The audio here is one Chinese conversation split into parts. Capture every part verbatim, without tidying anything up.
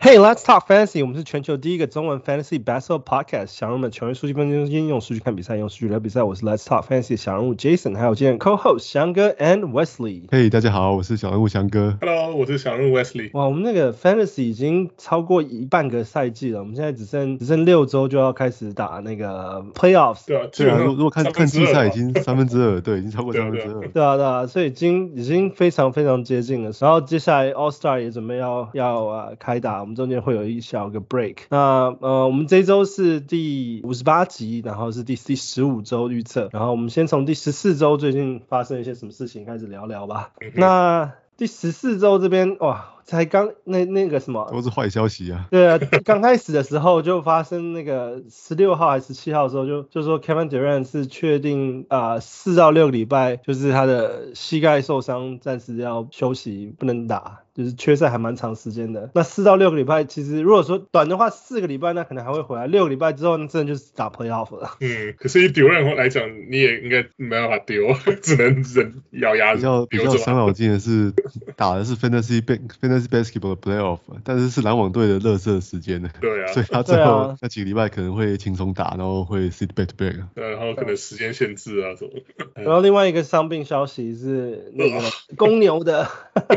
Hey, let's talk fantasy. 我們是全球第一個中文 fantasy basketball podcast。小人物們球員數據分析中心，用數據看比賽，用數據聊比賽。我是 Let's Talk Fantasy 小人物 Jason， 還有今天 co-host 翔哥 and Wesley。 嘿， hey, 大家好，我是小人物翔哥。 Hello， 我是小人物 Wesley。 哇，我們那個 fantasy 已經超過一半個賽季了，我們現在只剩只剩六周就要開始打那個 playoffs。 對啊， 對啊，如果看看季賽已經三分之二，對，已經超過三分之二。 對啊，對啊，所以已經已經非常非常接近了。然後接下來 All Star 也準備要要呃開打，我們中間會有一小個 break。那呃，我們這一周是第五十八集，然後是第第十五周預測。然後我們先從第十四周最近發生一些什麼事情開始聊聊吧。嗯、那第十四周這邊哇。才剛那那個什麼都是壞消息啊！ 對啊，剛開始的時候就發生那個十六號還是十七號的時候就就說 Kevin Durant 是確定啊四到六個禮拜就是他的膝蓋受傷，暫時要休息不能打，就是缺賽還蠻長時間的。那四到六個禮拜其實如果說短的話四個禮拜那可能還會回來，六個禮拜之後那真的就是打 playoff 了。 嗯，可是以 Durant 來講你也應該沒辦法丟，只能忍咬牙比較比較傷腦筋的是打的是 Fantasy Fantasy Basketball 的 Playoff， 但是是籃網隊的垃圾時間的， 對啊， 所以他最後那幾個禮拜可能會輕鬆打，然後會 sit back to back， 對，然後可能時間限制啊什麼。 然後另外一個傷病消息是那個公牛的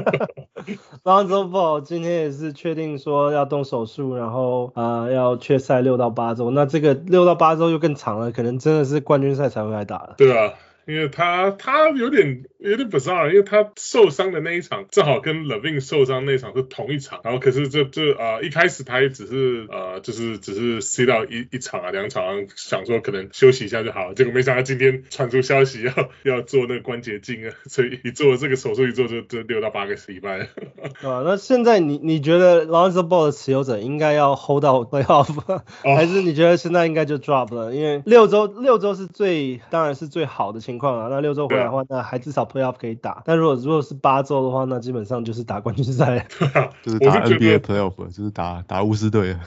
Lonzo Ball 今天也是確定說要動手術，然後呃要缺賽六到八周，那這個六到八周又更長了，可能真的是冠軍賽才會來打了。 對啊。因為他他有點有點 bizarre， 因為他受傷的那一場正好跟 Levine 受傷那一場是同一場，然後可是這這呃一開始他也只是呃就是只是 sit out 一一場啊兩場，想說可能休息一下就好了，結果沒想到今天傳出消息要要做那個關節鏡啊，所以一做這個手術一做就就六到八個禮拜。 啊，那現在你你覺得 Lonzo Ball 的持有者應該要 hold 到 playoff，、哦、還是你覺得現在應該就 drop 了？因為六周六周是最當然是最好的情況啊，那六周回來的話，那還至少 playoff 可以打。但如果如果是八周的話，那基本上就是打冠軍賽， 就是打 N B A playoff， 就是打打巫師隊。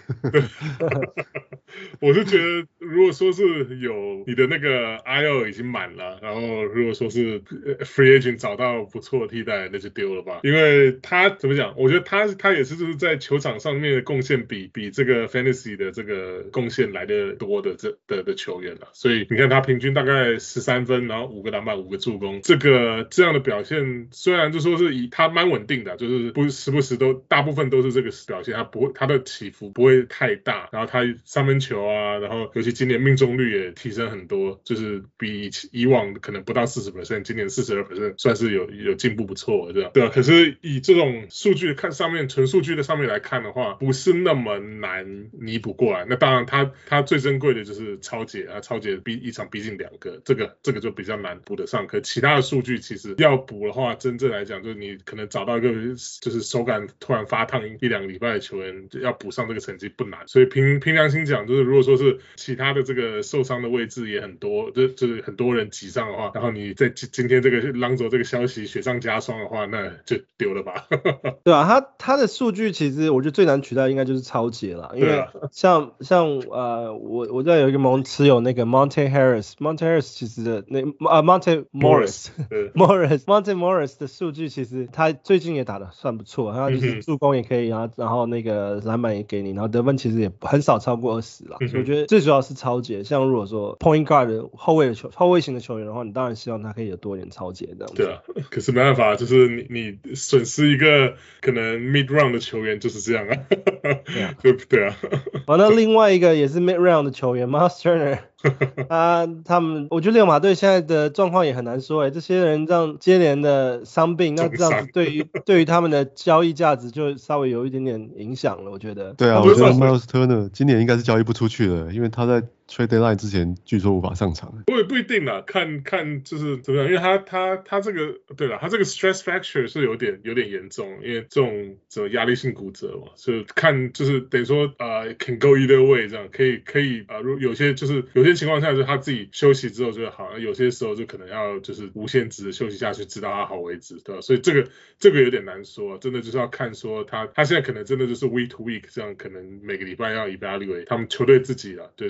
我是覺得，如果說是有你的那個 I L 已經滿了，然後如果說是 free agent 找到不錯的替代，那就丟了吧。因為他怎麼講？我覺得他他也是就是在球場上面的貢獻比比這個 fantasy 的這個貢獻來的多的這的的球員了。所以你看他平均大概十三分，然後五個籃板，五個助攻，這個這樣的表現，雖然就說是以他蠻穩定的，就是不時不時都大部分都是這個表現，他不會他的起伏不會太大，然後他三分球啊，然後尤其今年命中率也提升很多，就是比以往可能不到 百分之四十， 今年 百分之四十二 算是有有進步不錯的，對吧？對啊，可是以這種數據看上面純數據的上面來看的話，不是那麼難彌補過來。那當然他他最珍貴的就是抄截啊，抄截逼一場逼近兩個，這個這個就比較難補得上。可其他的數據其實要補的話，真正來講就是你可能找到一個就是手感突然發燙一兩個禮拜的球員，要補上這個成績不難。所以憑憑良心講，就是如果說是其他的這個受傷的位置也很多，就就是很多人擠上的話，然後你在今天這個朗佐這個消息雪上加霜的話，那就丟了吧。 對啊，他他的數據其實我覺得最難取代應該就是抄截了，因為像、啊、像呃我我在有一個盟持有那個 Monte Harris，Monte Harris 其實的那啊 Monte Morris Morris Monte Morris 的數據其實他最近也打得算不錯，他就是助攻也可以，然後然後那個籃板也給你，然後得分其實也很少超過二十啦，所以我覺得最主要是抄截。像如果說 point guard 的後衛的球後衛型的球員的話，你當然希望他可以有多一點抄截這樣子。 對啊，可是沒辦法，就是你你損失一個可能 mid round 的球員就是這樣啊。對啊，對啊。 好，那另外一個也是 mid round 的球員 Myles Turner。啊，他們，我覺得溜馬隊現在的狀況也很難說哎，這些人這樣接連的傷病，那這樣子對於對於他們的交易價值就稍微有一點點影響了，我覺得。 對啊，我覺得 Myles Turner 今年應該是交易不出去了，因為他在trade deadline 之前據說無法上場。 不不一定啦，看看就是怎麼樣，因為他他他這個對了，他這個 stress fracture 是有點有點嚴重，因為這種這種壓力性骨折嘛，所以看就是等於說呃 can go either way 這樣，可以可以啊，如、呃、有些就是有些情況下就是他自己休息之後就好，有些時候就可能要就是無限制的休息下去，直到他好為止，對吧？所以這個這個有點難說，真的就是要看說他他現在可能真的就是 week to week 這樣，可能每個禮拜要 evaluate 他們球隊自己啦，對對。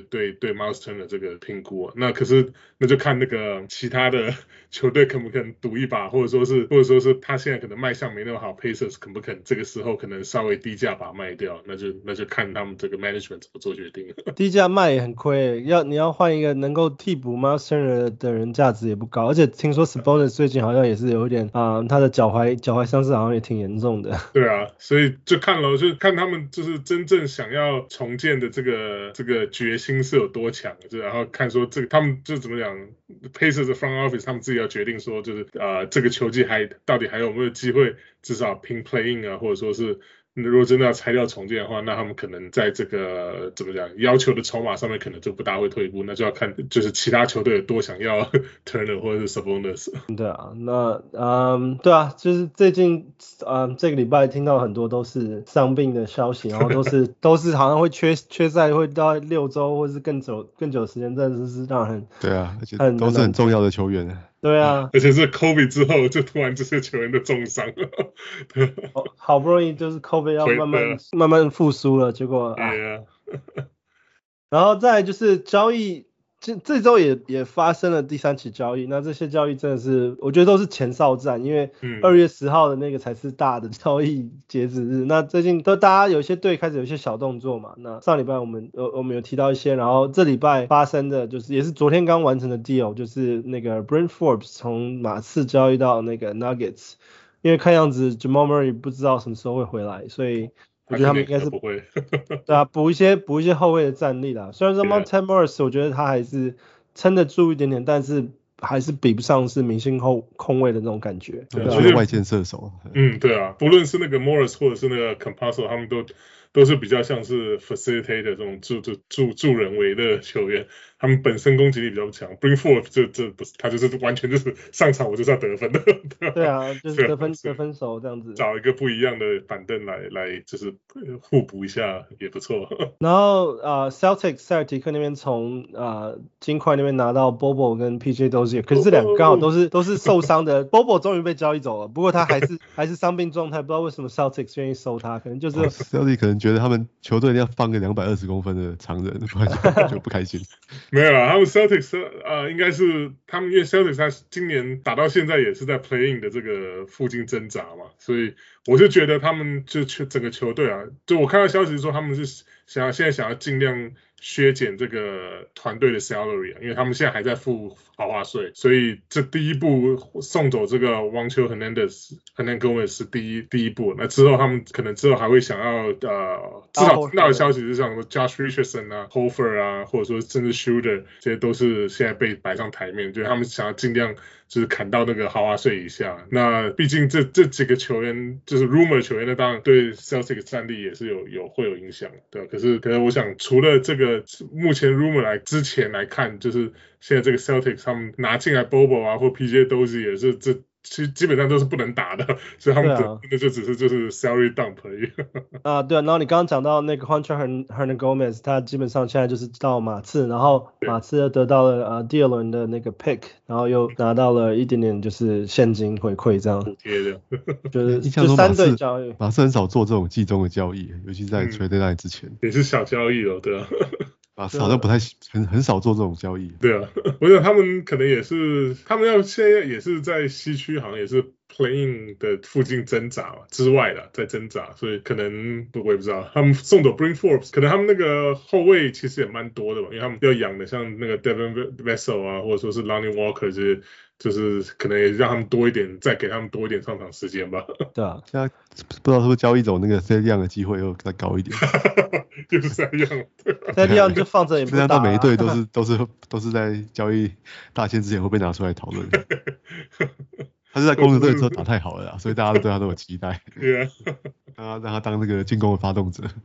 對 Miles Turner 這個評估啊。那可是那就看那個其他的球隊肯不肯賭一把，或者說是或者說是他現在可能賣相沒那麼好 ，Pacers 肯不肯這個時候可能稍微低價把它賣掉，那就那就看他們這個 management 怎麼做決定。 低價賣也很虧，要你要換一個能夠替補 Miles Turner 的人，價值也不高，而且聽說 Sabonis 最近好像也是有一點啊、呃，他的腳踝腳踝傷勢好像也挺嚴重的。對啊，所以就看了，就看他們就是真正想要重建的這個這個決心是有多強，就然後看說這個他們就怎麼講 ，Pacers 的 front office 他們自己要決定說，就是啊、呃、這個球季還到底還有沒有機會，至少拼 play in 啊，或者說是。如果真的要拆掉重建的話，那他們可能在這個怎麼講要求的籌碼上面可能就不大會退步，那就要看就是其他球隊有多想要 Turner 或者是 Sabonis。 對啊，那嗯對啊，就是最近嗯這個禮拜聽到很多都是傷病的消息，然後都是都是好像會缺缺賽會到六周或是更久更久的時間，真的是讓人對啊，而且都是很重要的球員。 對啊， 而且是 Kobe 之後就突然這些球員都重傷了好，好不容易就是 Kobe 要慢慢慢慢復甦了，結果啊，然後再來就是交易，這這週也也發生了第三起交易，那這些交易真的是我覺得都是前哨戰，因為二月十號的那個才是大的交易截止日，嗯、那最近都大家有一些隊開始有一些小動作嘛，那上禮拜我們呃我們有提到一些，然後這禮拜發生的就是也是昨天剛完成的 deal， 就是那個 Bryn Forbes 從馬刺交易到那個 Nuggets， 因為看樣子 Jamal Murray 不知道什麼時候會回來，所以我覺得他們應該是不會對啊，補一些補一些後衛的戰力啦。雖然說 Monte Morris 我覺得他還是撐得住一點點，但是還是比不上是明星後控衛的那種感覺。 對，就是、啊、外線射手。 嗯，對啊，不論是那個 Morris 或者是那個 Campazzo， 他們都都是比較像是 facilitator 這種助助助助人為的球員。他們本身攻擊力比較強 ，Bryn Forbes 這這不是他就是完全就是上場我就是要得分的。 對啊，就是得分得分手這樣子。 找一個不一樣的板凳來來就是互補一下也不錯。 然後啊、呃、，Celtics 塞爾提克那邊從啊金塊那邊拿到 Bobo 跟 P J Dozier， 可是這兩個剛好都是都是受傷的。Bobo 終於被交易走了，不過他還是還是傷病狀態，不知道為什麼 Celtics 願意收他，可能就是、哦、 Celtics 可能覺得他們球隊要放個兩百二十公分的長人，不然就不開心。 沒有啊，他們 Celtics 呃應該是他們因為 Celtics 他今年打到現在也是在 play in 的這個附近掙扎嘛，所以我是覺得他們就整個球隊啊，就我看到消息說他們是想要現在想要盡量削減這個團隊的 salary 啊，因為他們現在還在付豪華稅，所以這第一步送走這個 Juancho Hernandez Hernan Gomez 是第一第一步，那之後他們可能之後還會想要呃至少聽到的消息是像 Josh Richardson 啊 Horford 啊，或者說甚至 Shooter 這些都是現在被擺上台面，就是他們想要盡量就是砍到那個豪華稅以下。那畢竟這這幾個球員就是 rumor 球員，那當然對 Celtics 戰力也是有有會有影響，對。可是可是我想除了這個目前 rumor 來之前來看，就是現在這個 Celtics 他們拿進來 Bobo 啊或 P J Dozier 也是這其實基本上都是不能打的，所以他們真的就只是就是 salary dump 而已。 啊，對啊，然後你剛剛講到那個 Juancho Hernangomez， 他基本上現在就是到馬刺，然後馬刺又得到了呃第二輪的那個 pick， 然後又拿到了一點點就是現金回饋這樣。 貼的， 就是就三隊交易， 馬刺很少做這種季中的交易，尤其在 trade deadline 之前、嗯。 也是小交易哦，對啊。 啊，好像不太很很少做這種交易。 對啊，我想他們可能也是，他們要現在也是在西區，好像也是 play-in 的附近掙扎嘛，之外的在掙扎，所以可能我也不知道。他們送走 Bryn Forbes， 可能他們那個後衛其實也蠻多的吧，因為他們要養的像那個 Devin Vassell 啊，或者說是 Lonnie Walker 這些。就是可能也讓他們多一點，再給他們多一點上場時間吧。 對啊， 現在不知道是不是交易走那個 Thad Young 的機會又再高一點。 就是這樣。 Thad Young 就放着也不打、啊。現在到每一隊都是都是都是在交易大限之前會被拿出來討論。他是在公牛隊的時候打太好了啦，所以大家都對他都有期待。 對啊， 讓他讓他當那個進攻的發動者。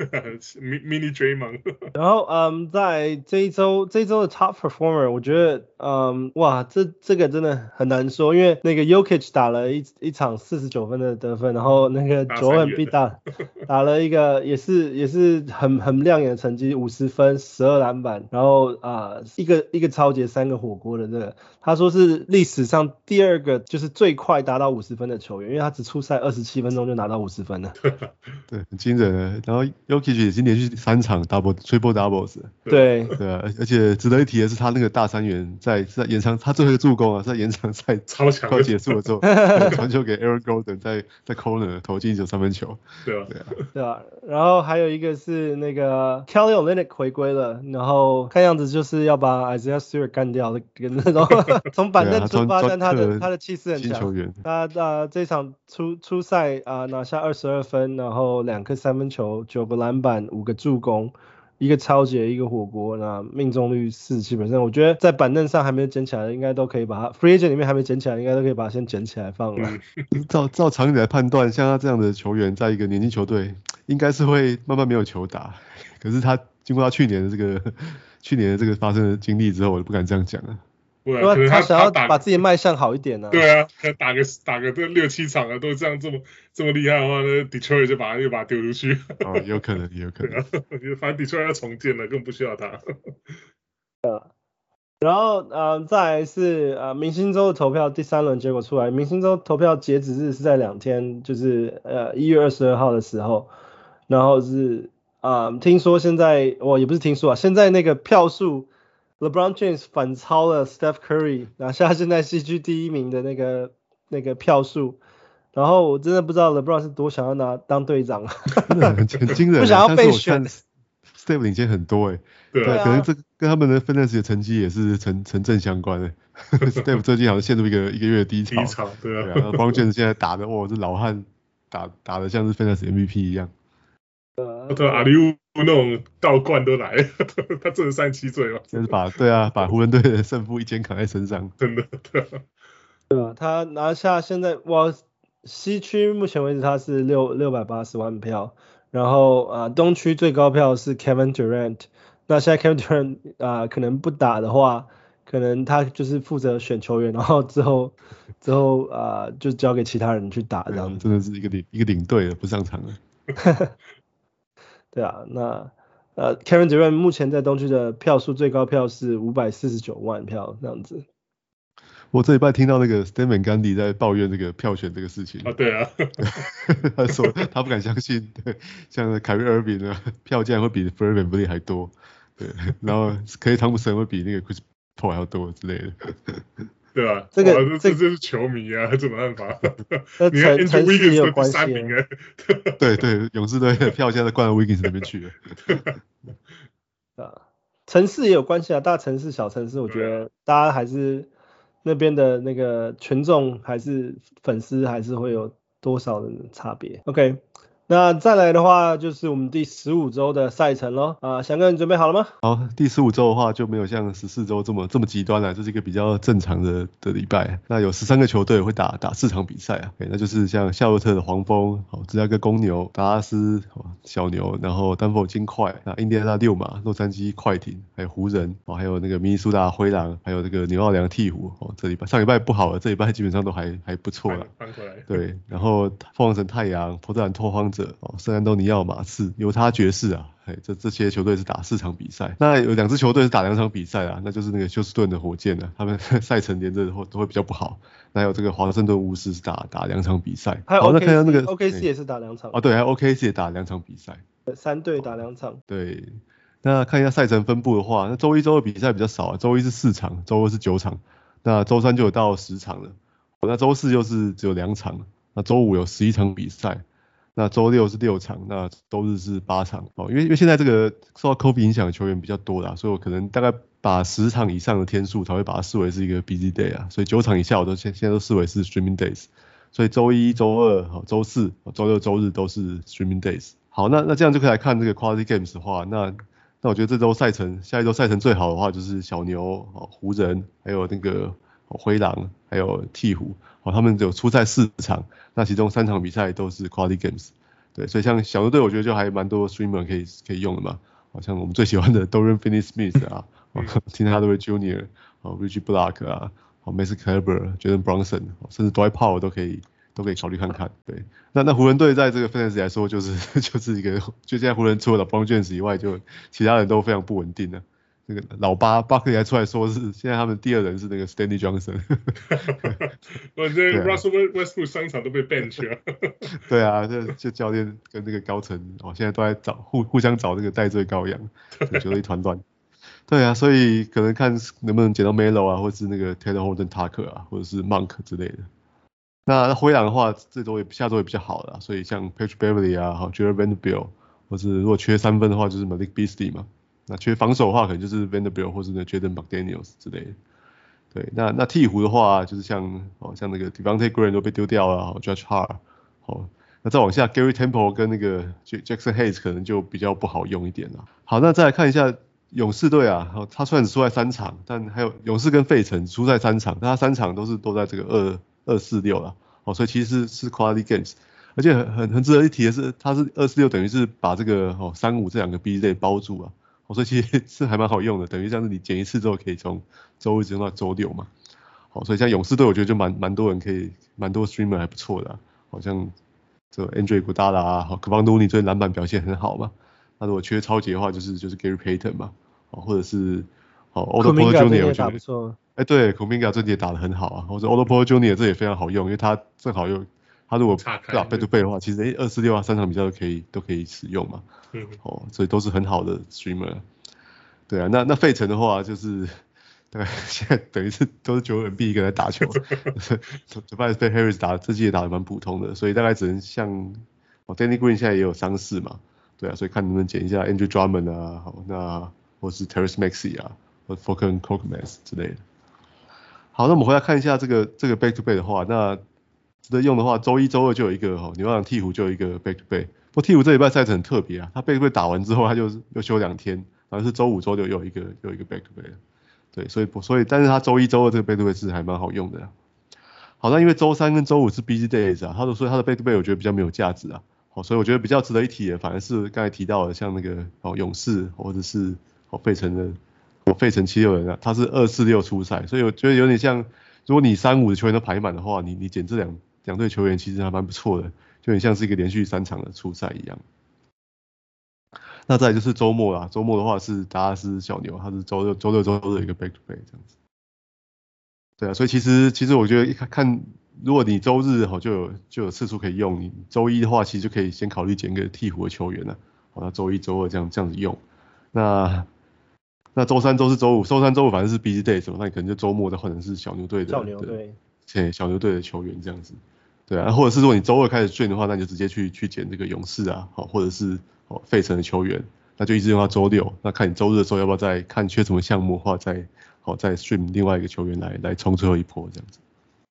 Mini Draymond。 然後嗯，在這一周這一周的 Top Performer， 我覺得嗯哇，這這個真的很難說，因為那個 Jokic 打了一一場四十九分的得分，然後那個 Joel Embiid 打打了一個也是也是很很亮眼的成績，五十分十二籃板，然後啊、呃、一個一個抄截三個火鍋的這個，他說是歷史上第二個就是最快達到五十分的球員，因為他只出賽二十七分鐘就拿到五十分了。 了。 對，很驚人的。然後 Jokic 也是連續三場 double triple doubles。 對對啊，而且值得一提的是，他那個大三元在在延長，他最後一個助攻啊，在延長賽超強， 快結束的時候，傳球給 Aaron Gordon 在在 corner 投進一球三分球。 對啊， 對啊， 對啊。然後還有一個是那個 Kelly Olynyk 回歸了，然後看樣子就是要把 Isaiah Stewart 幹掉的，跟那種從板凳出發，但他的他的氣勢很強。他他這場初初賽啊拿下二十二分，然後兩顆三分球，九個籃板，五個助攻。一個抄截，一個火鍋，那命中率四七%，我覺得在板凳上還沒有撿起來的，應該都可以把它 free agent 裡面還沒撿起來，應該都可以把它先撿起來放了。 嗯、照照常理來判斷，像他這樣的球員，在一個年輕球隊，應該是會慢慢沒有球打。可是他經過他去年的這個去年的這個發生的經歷之後，我就不敢這樣講了。 對啊，可能他他想要把自己賣相好一點呢、啊。 對啊，打個打個這六七場啊，都這樣這麼這麼厲害的話，那 Detroit 就把他又把他丟出去。 哦，有可能，有可能。 對啊，反正 Detroit 要重建了，根本不需要他。 然後呃，再來是呃明星週的投票第三輪結果出來，明星週投票截止日是在兩天，就是呃一月二十二號的時候，然後是啊、呃、聽說現在我也不是聽說啊，現在那個票數。LeBron James 反超了 Steph Curry， 拿下現在西區第一名的那個那個票數，然後我真的不知道 LeBron 是多想要拿當隊長， 真的很驚人， 不想要被選。 Steph 領先很多哎，對， 對啊， 可能這跟他們的 Fantasy 的成績也是成成正相關的。Steph 最近好像陷入一個一個月的低潮， 低潮，對啊。 LeBron James 現在打的哇，這老漢打打的像是 Fantasy M V P 一樣。 對，阿里烏那種倒灌都來，他真的三十七歲嘛， 就是把對啊，把湖人隊的勝負一肩扛在身上， 真的，對啊， 對啊，他拿下現在哇，西區目前為止他是六六百八十萬票，然後啊、呃、東區最高票是 Kevin Durant， 那現在 Kevin Durant 啊、呃、可能不打的話，可能他就是負責選球員，然後之後之後啊、呃、就交給其他人去打這樣子， 真的是一個領一個領隊了，不上場了。 對啊，那呃 Kevin Durant 目前在東區的票數最高票是五百四十九萬票這樣子。 我這禮拜聽到那個 Stan Van Gundy 在抱怨這個票選這個事情啊，對啊， 他說他不敢相信，對，像 Kyrie Irving 的票竟然會比 Fred VanVleet 還多，對，然後 Klay Thompson 會比那個 Chris Paul 還要多之類的。 對吧？ 這個這這這是球迷啊，這沒辦法。 你看 Andrew Wiggins 有關係、啊。 對對，勇士隊的票現在灌到 Wiggins 那邊去了。 啊，城市也有關係啊，大城市、小城市，我覺得大家還是那邊的那個群眾還是粉絲還是會有多少的差別。OK。那再來的話就是我們第十五周的賽程咯。啊，翔哥你準備好了嗎？ 好，第十五周的話就沒有像十四周這麼這麼極端了，就是一個比較正常的的禮拜。那有十三個球隊會打打四場比賽啊，那就是像夏洛特的黃蜂、好芝加哥公牛、達拉斯小牛，然後丹佛金塊、那印第安納溜馬、洛杉磯快艇，還有湖人，還有那個明尼蘇達灰狼，還有這個紐奧良鵜鶘。哦，這禮拜上禮拜不好了，這禮拜基本上都還還不錯了。 翻回來。對， 然後鳳凰城太陽、波特蘭拓荒者。哦，聖安東尼奧馬刺、猶他爵士啊，嘿，這這些球隊是打四場比賽。那有兩支球隊是打兩場比賽啊，那就是那個休斯頓的火箭啊，他們賽程連着都都會比較不好。那還有這個華盛頓巫師是打打兩場比賽。 還有 O K C， 那看到那個 O K C 也是打兩場。 哦，對，還有 O K C 也打兩場比賽。 三隊打兩場。 對，那看一下賽程分布的話，那周一、周二比賽比較少啊，周一是四場，周二是九場，那周三就有到十場了。那周四又是只有兩場，那周五有十一場比賽。那週六是六場，那週日是八場哦，因為因為現在這個受到 COVID 影響的球員比較多啦，所以我可能大概把十場以上的天數才會把它視為是一個 busy day 啊，所以九場以下我都現現在都視為是 streaming days， 所以週一、週二、週四、週六、週日都是 streaming days。好，那那這樣就可以來看這個 quality games 的話，那那我覺得這週賽程，下一週賽程最好的話就是小牛、湖人，還有那個灰狼，還有鵜鶘。哦，他們有出賽四場，那其中三場比賽都是 quality games， 對，所以像小牛隊我覺得就還蠻多 streamer 可以可以用的嘛，好像我們最喜歡的 Dorian Finney-Smith 啊，Tim Hardaway Junior 哦 Reggie Bullock 啊，哦 Mason Kleber、Jalen Brunson， 甚至 Dwight Powell 都可以都可以考慮看看，對，那那湖人隊在這個 fantasy 來說就是就是一個，就現在湖人除了 LeBron James 以外，就其他人都非常不穩定的， 那個老八 Buckley 還出來說是現在他們第二人是那個 Stanley Johnson。 我覺得 Russell Westbrook 上場都被 bench 了。對啊，這就教練跟那個高層哦，現在都在找互互相找那個代罪羔羊，就覺得一團亂。對啊，所以可能看能不能撿到 Melo 啊，或是那個 Taylor Horton Tucker 啊，或者是 Monk 之類的。那灰狼的話，這周也下周也比較好了，所以像 Patrick Beverley 啊，好 Jarred Vanderbilt，或是如果缺三分的話，就是 Malik Beasley 嘛。那缺防守的話，可能就是 Vanderbilt 或是那 Jaden McDaniels 之類的。對，那那鹈鶘的話，就是像哦像那個 Devontae Graham 都被丟掉了，哦 Josh Hart，哦，那再往下 Gary Temple 跟那個 Jackson Hayes 可能就比較不好用一點了。好，那再來看一下。勇士隊啊，他雖然只輸在三場，但還有勇士跟費城輸在三場，但他三場都是都在這個二二四六啦，哦，所以其實是是 quality games， 而且很很很值得一提的是，他是二四六等於是把這個哦三五這兩個 B J 包住啊，哦，所以其實是還蠻好用的，等於像是你減一次之後可以從周一直用到周六嘛，好，所以像勇士隊我覺得就蠻蠻多人可以，蠻多 streamer 還不錯的，啊，好像這 Andre Iguodala 啊，好 Kevon Looney 最近籃板表現很好嘛。那如果缺超級的話，就是就是 Gary Payton 嘛，哦，或者是哦 Otto Porter Junior 我覺得，哎對 Kuminga 最近也打得很好啊，或者 Otto Porter Junior 這也非常好用，因為他正好又他如果打背對背的話，其實哎二四六啊三場比賽都可以都可以使用嘛，嗯，哦，所以都是很好的 streamer， 對啊，那那費城的話就是大概現在等於是都是九人 B 一個人在打球，Tobias Harris 打這季也打得蠻普通的，所以大概只能像哦 Danny Green 現在也有傷勢嘛。對啊，所以看能不能撿一下 Andrew Drummond 啊，好，那或是 Tyrese Maxey 啊，或 Furkan Korkmaz 之類的。好，那我們回來看一下這個這個 back to back 的話，那值得用的話，周一周二就有一個哈，紐約鵜鶘就有一個 back to back。不過鵜鶘這禮拜賽程很特別啊，他 back to back 打完之後，他就又休兩天，然後是周五周六又有一個又有一個 back to back。對，所以所以但是他周一周二這個 back to back 是還蠻好用的啊。好，那因為周三跟周五是 busy days 啊，他說所以他的 back to back 我覺得比較沒有價值啊。哦，所以我覺得比較值得一提的，反而是剛才提到的，像那個哦勇士或者是哦費城的哦費城七六人啊，他是二四六出賽，所以我覺得有點像，如果你三五的球員都排滿的話，你你撿這兩兩隊球員其實還蠻不錯的，就很像是一個連續三場的出賽一樣。那再來就是周末啦，周末的話是達拉斯小牛，他是周六周六周日有一個 back to back 這樣子。對啊，所以其實其實我覺得看看。如果你周日好就有就有次數可以用，你周一的話其實就可以先考慮撿個鵜鶘的球員了，好，那周一周二這樣這樣子用，那那周三周四周五，周三周五反正是 busy day 什麼，那你可能就周末再換成是小牛隊的小牛隊，對，小牛隊的球員這樣子，對啊，或者是如果你周二開始卷的話，那你就直接去去撿這個勇士啊，好，或者是哦費城的球員，那就一直用到周六，那看你周日的時候要不要再看缺什麼項目的話，再好再 stream 另外一個球員來來衝最後一波這樣子。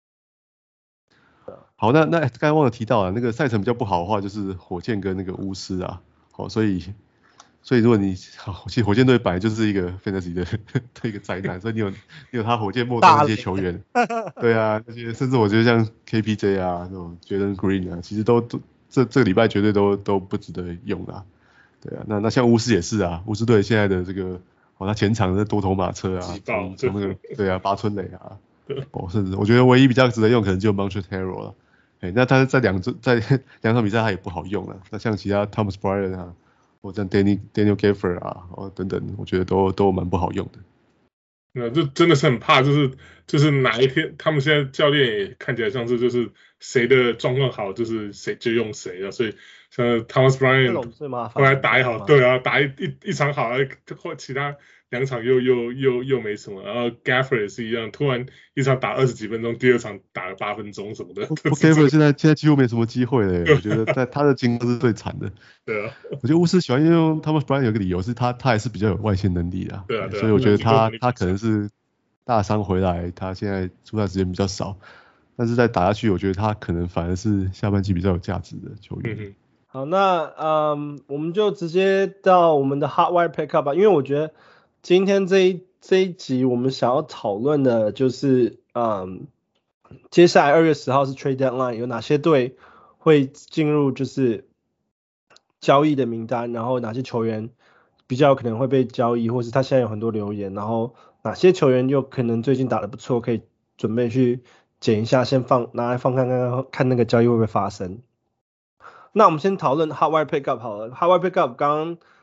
好，那那剛才忘了提到啊，那個賽程比較不好的話，就是火箭跟那個巫師啊，好，所以所以如果你好，其實火箭隊本來就是一個 fantasy 的的一個災難，所以你有你有他火箭末端那些球員，對啊，那些甚至我覺得像 K P J 啊，這種 Jalen Green 啊，其實都都這這個禮拜絕對都都不值得用啦，對啊，那那像巫師也是啊，巫師隊現在的這個哦，他前場的多頭馬車啊，從從那個對啊，八村壘啊，哦，甚至我覺得唯一比較值得用可能就 Montrezl Harrell 了。欸、那他在兩在兩場比賽他也不好用了，那像其他 Thomas Bryant 啊，或者 Danny Daniel Gafford 啊，哦等等，我覺得都都蠻不好用的。 那這真的是很怕，就是就是哪一天他們現在教練也看起來像是就是誰的狀況好，就是誰就用誰了，所以像 Thomas Bryant 後來打一好，對啊，打一一一場好，或其他兩場又又又又沒什麼，然後 Gafford 也是一樣，突然一場打二十幾分鐘，第二場打了八分鐘什麼的。 Gafford 現在現在幾乎沒什麼機會了，我覺得在他的進攻是最慘的。 對啊， 我覺得巫師喜歡用 Thomas Bryant 有個理由是他他還是比較有外線能力的， 對啊，對啊， 所以我覺得他他可能是大傷回來，他現在出賽時間比較少，但是再打下去，我覺得他可能反而是下半季比較有價值的球員。嗯、 好，那嗯，我們就直接到我們的 Hot Wire Pickup 吧，因為我覺得今天這一這一集我們想要討論的就是嗯，接下來二月十號是 Trade Deadline， 有哪些隊會進入就是交易的名單，然後哪些球員比較有可能會被交易，或是他現在有很多留言，然後哪些球員又可能最近打得不錯，可以準備去撿一下，先放拿來放看看看那個交易會不會發生。那我們先討論 Hot Wire Pickup 好了。Hot Wire Pickup 剛剛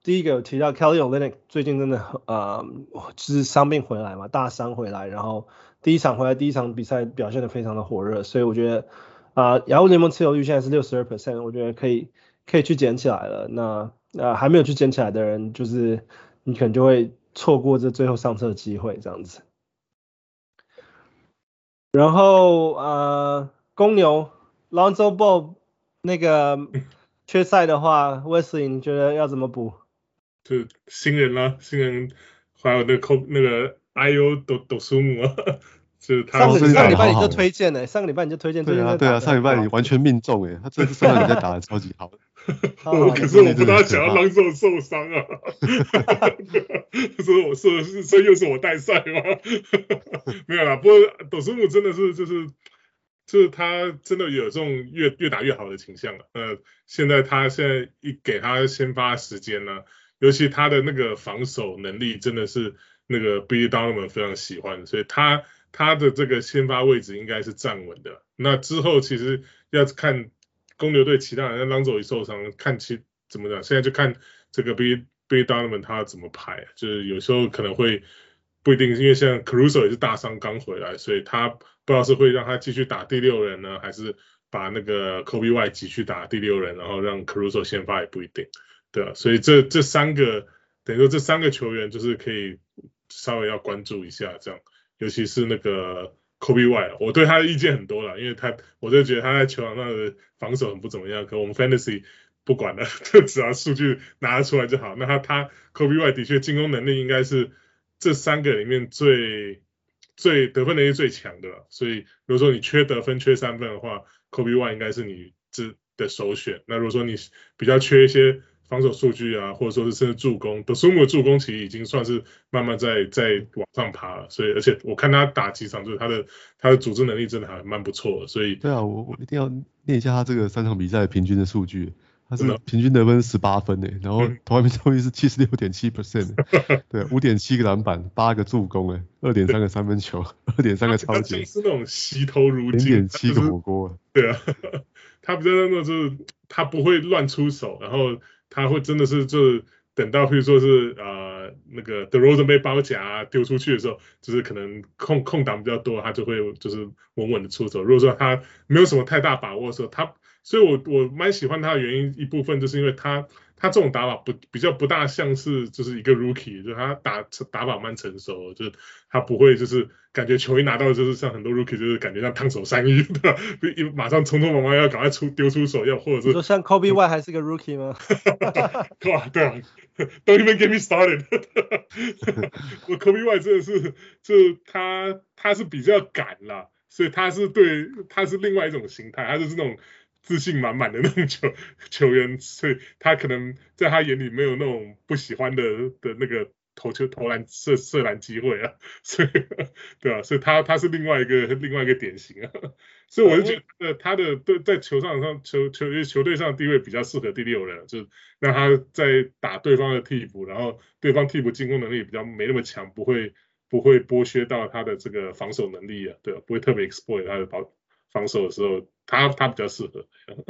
第一個有提到 Kelly Olynyk 最近真的呃就是傷病回來嘛，大傷回來，然後第一場回來第一場比賽表現得非常的火熱，所以我覺得啊、呃、雅虎聯盟持有率現在是 百分之六十二， 我覺得可以可以去撿起來了。那呃還沒有去撿起來的人，就是你可能就會錯過這最後上車的機會這樣子。然後呃公牛 Lonzo Ball 那個缺賽的話，Wesley 你覺得要怎麼補？ 就新人啦，新人還有那個那個 I O 斗斗蘇姆啊，就是他上個上上禮拜你就推薦了，上個禮拜你就推薦， 對啊對啊，上禮拜你完全命中誒，他這次上禮拜打得超級好。 我可是我不大想要讓受受傷啊，所以我說是所以又是我帶賽嗎？沒有啦，不過斗蘇姆真的是就是就是他真的有這種越越打越好的傾向了。呃，現在他現在一給他先發時間呢、啊。尤其他的那個防守能力真的是那個 Billy Donovan 非常喜歡，所以他他的這個先發位置應該是站穩的。那之後其實要看公牛隊其他人，像 Lonzo 一受傷，看其怎麼講，現在就看這個 Billy Billy Donovan 他怎麼排，就是有時候可能會不一定，因為像 Caruso 也是大傷剛回來，所以他不知道是會讓他繼續打第六人呢，還是把那個 Kobe White 擠去打第六人，然後讓 Caruso 先發也不一定。對啊，所以這這三個等於說這三個球員就是可以稍微要關注一下這樣，尤其是那個 Kobe White， 我對他的意見很多啦，因為他我就覺得他在球場上的防守很不怎麼樣，可我們 Fantasy 不管了，就只要數據拿得出來就好。那他他 Kobe White 的確進攻能力應該是這三個裡面最最得分能力最強的了，所以如果說你缺得分缺三分的話 ，Kobe White 應該是你這的首選。那如果說你比較缺一些防守數據啊，或者說是甚至助攻，斗蘇姆的助攻其實已經算是慢慢在在往上爬了，所以而且我看他打幾場，就是他的他的組織能力真的還蠻不錯的，所以對啊，我我一定要念一下他這個三場比賽平均的數據，他是平均得分十八分誒，然後投籃命中率是 百分之七十六點七， 對，五點七個籃板，八個助攻誒，二點三個三分球，二點三個抄截， 是那種惜頭如金， 零點七個火鍋， 對啊，他比較那種就是他不會亂出手，然後他會真的是就是等到譬如說是呃那個 DeRozan 被包夾丟出去的時候，就是可能空空檔比較多，他就會就是穩穩的出手。如果說他沒有什麼太大把握的時候，他所以我我蠻喜歡他的原因一部分就是因為他他這種打法不比較不大像是就是一個 rookie， 就是他打打法蠻成熟的，就是他不會就是感覺球一拿到就是像很多 rookie 就是感覺像燙手山芋，對吧？一馬上匆匆忙忙要趕快出丟出手，要或者是說像 Kobe White 還是個 rookie 嗎？ 對啊對啊 ，Don't even get me started 我 Kobe White 真的是就是他他是比較敢啦，所以他是對他是另外一種形態，他就是那種自信滿滿的那種球球員，所以他可能在他眼裡沒有那種不喜歡的的那個投球投籃射射籃機會啊，所以對啊，所以他他是另外一個另外一個典型啊，所以我就覺得他的對在球場上球球球隊上的地位比較適合第六人，就是讓他在打對方的替補，然後對方替補進攻能力比較沒那麼強，不會不會剝削到他的這個防守能力啊，對啊，不會特別 exploit 他的防防守的時候。他他比較適合。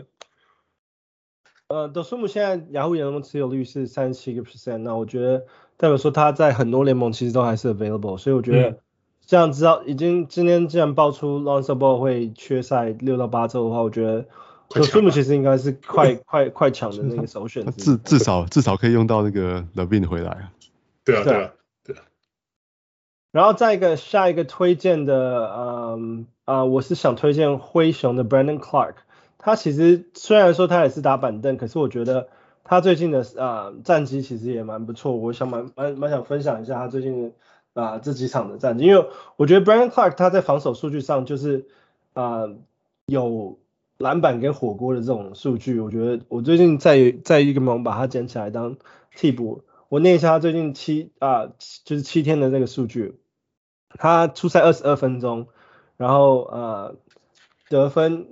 呃，斗蘇姆現在雅虎聯盟持有率是 百分之三十七， 那我覺得代表說他在很多聯盟其實都還是 available， 所以我覺得這樣知道已經今天既然爆出 Lonzo Ball 會缺賽六到八週的話，我覺得斗蘇姆其實應該是快快快搶的那個首選。 至至少至少可以用到那個 Levine 回來啊。 對啊對啊對啊。 然後再一個下一個推薦的，嗯啊、呃，我是想推薦灰熊的 Brandon Clark。他其實雖然說他也是打板凳，可是我覺得他最近的啊、呃、戰績其實也蠻不錯。我想蠻蠻蠻想分享一下他最近啊、呃、這幾場的戰績，因為我覺得 Brandon Clark 他在防守數據上就是啊、呃、有籃板跟火鍋的這種數據。我覺得我最近在在一個盟把他撿起來當替補。我念一下他最近七啊、呃、就是七天的這個數據。他出賽二十二分鐘，然後呃得分